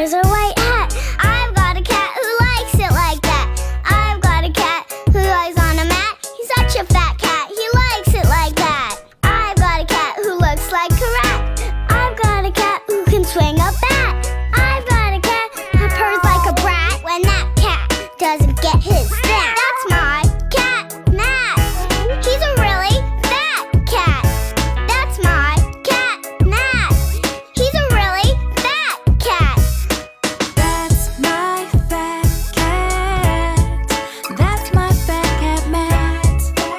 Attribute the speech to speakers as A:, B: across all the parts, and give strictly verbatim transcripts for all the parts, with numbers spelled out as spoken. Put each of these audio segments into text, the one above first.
A: wears a white hat. I've got a cat who likes it like that. I've got a cat who lies on a mat. He's such a fat cat, he likes it like that. I've got a cat who looks like a rat. I've got a cat who can swing a bat. I've got a cat who purrs like a brat when that cat doesn't get his snack. That's my cat, Matt. He's a really fat cat. That's my cat, Matt. He's a really fat cat.
B: That's my fat cat. That's my fat cat, Matt.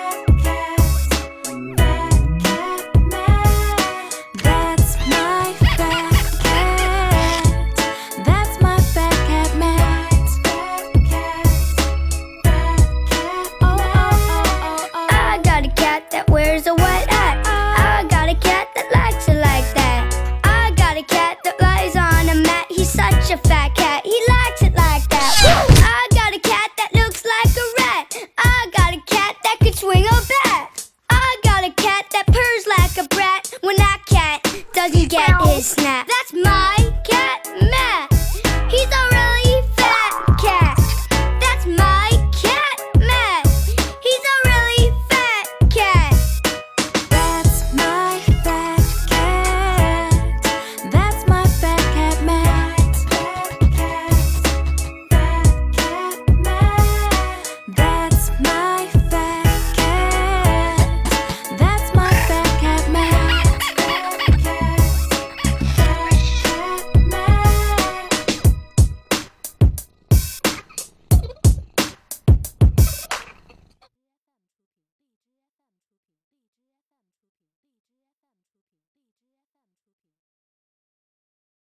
B: Fat cat, Matt. That's my fat cat. That's my fat cat, Matt. Oh, oh, oh, oh, oh.
A: I got a cat that wears a white hat. I got a cat that likes it like that. I got a cat that lies on a mat. He's such a fat cat, he likes it like that. I got a cat that looks like a rat. I got a cat that could swing a bat. I got a cat that purrs like a brat when that cat doesn't get his snap. That's my